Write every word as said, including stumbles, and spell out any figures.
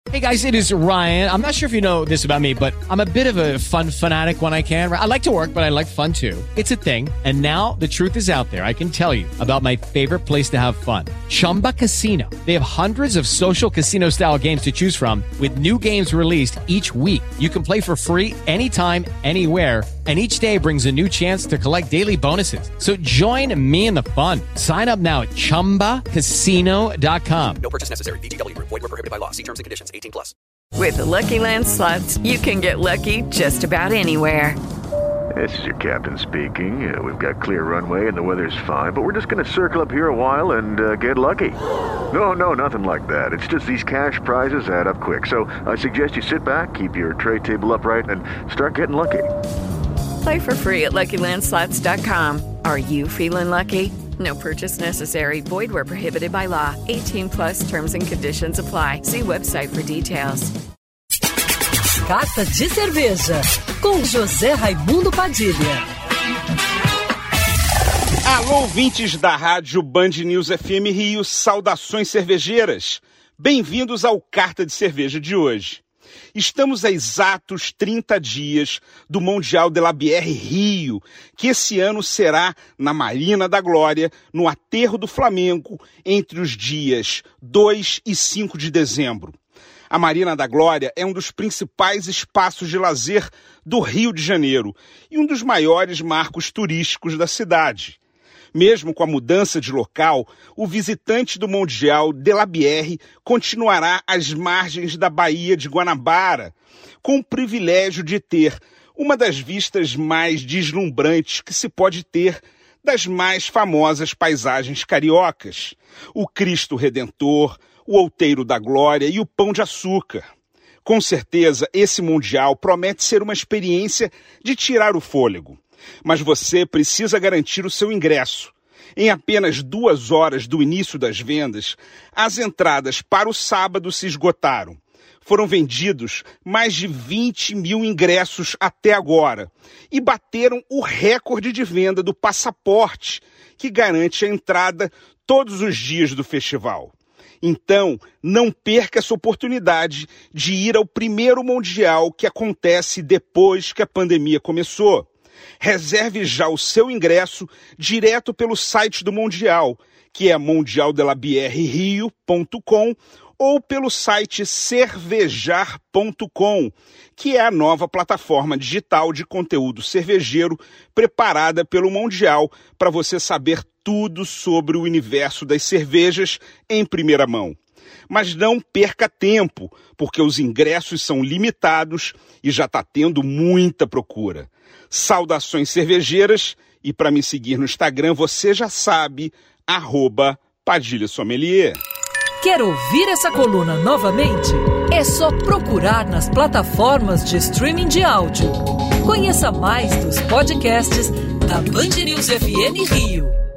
Hey guys, it is Ryan. I'm not sure if you know this about me, but I'm a bit of a fun fanatic when I can. I like to work, but I like fun too. It's a thing. And now the truth is out there. I can tell you about my favorite place to have fun. Chumba Casino. They have hundreds of social casino style games to choose from with new games released each week. You can play for free anytime, anywhere. And each day brings a new chance to collect daily bonuses. So join me in the fun. Sign up now at chumba casino dot com. No purchase necessary. V G W. Void where prohibited by law. See terms and conditions. eighteen plus. With the Lucky Land Slots, you can get lucky just about anywhere. This is your captain speaking. Uh, we've got clear runway and the weather's fine, but we're just going to circle up here a while and uh, get lucky. No, no, nothing like that. It's just these cash prizes add up quick. So I suggest you sit back, keep your tray table upright, and start getting lucky. Play for free at Lucky Land Slots dot com. Are you feeling lucky? No purchase necessary. Void where prohibited by law. eighteen plus terms and conditions apply. See website for details. Carta de Cerveja, com José Raimundo Padilha. Alô, ouvintes da rádio Band News F M Rio, saudações cervejeiras. Bem-vindos ao Carta de Cerveja de hoje. Estamos a exatos trinta dias do Mundial de la Bière Rio, que esse ano será na Marina da Glória, no Aterro do Flamengo, entre os dias dois e cinco de dezembro. A Marina da Glória é um dos principais espaços de lazer do Rio de Janeiro e um dos maiores marcos turísticos da cidade. Mesmo com a mudança de local, o visitante do Mundial de la Bière continuará às margens da Baía de Guanabara, com o privilégio de ter uma das vistas mais deslumbrantes que se pode ter das mais famosas paisagens cariocas: o Cristo Redentor, o Outeiro da Glória e o Pão de Açúcar. Com certeza, esse Mundial promete ser uma experiência de tirar o fôlego. Mas você precisa garantir o seu ingresso. Em apenas duas horas do início das vendas, as entradas para o sábado se esgotaram. Foram vendidos mais de vinte mil ingressos até agora e bateram o recorde de venda do passaporte, que garante a entrada todos os dias do festival. Então, não perca essa oportunidade de ir ao primeiro Mundial que acontece depois que a pandemia começou. Reserve já o seu ingresso direto pelo site do Mundial, que é mundial de la bière rio ponto com, ou pelo site cervejar ponto com, que é a nova plataforma digital de conteúdo cervejeiro preparada pelo Mundial para você saber tudo sobre o universo das cervejas em primeira mão. Mas não perca tempo, porque os ingressos são limitados e já está tendo muita procura. Saudações cervejeiras, e para me seguir no Instagram, você já sabe, arroba Padilha Sommelier. Quer ouvir essa coluna novamente? É só procurar nas plataformas de streaming de áudio. Conheça mais dos podcasts da Band News F M Rio.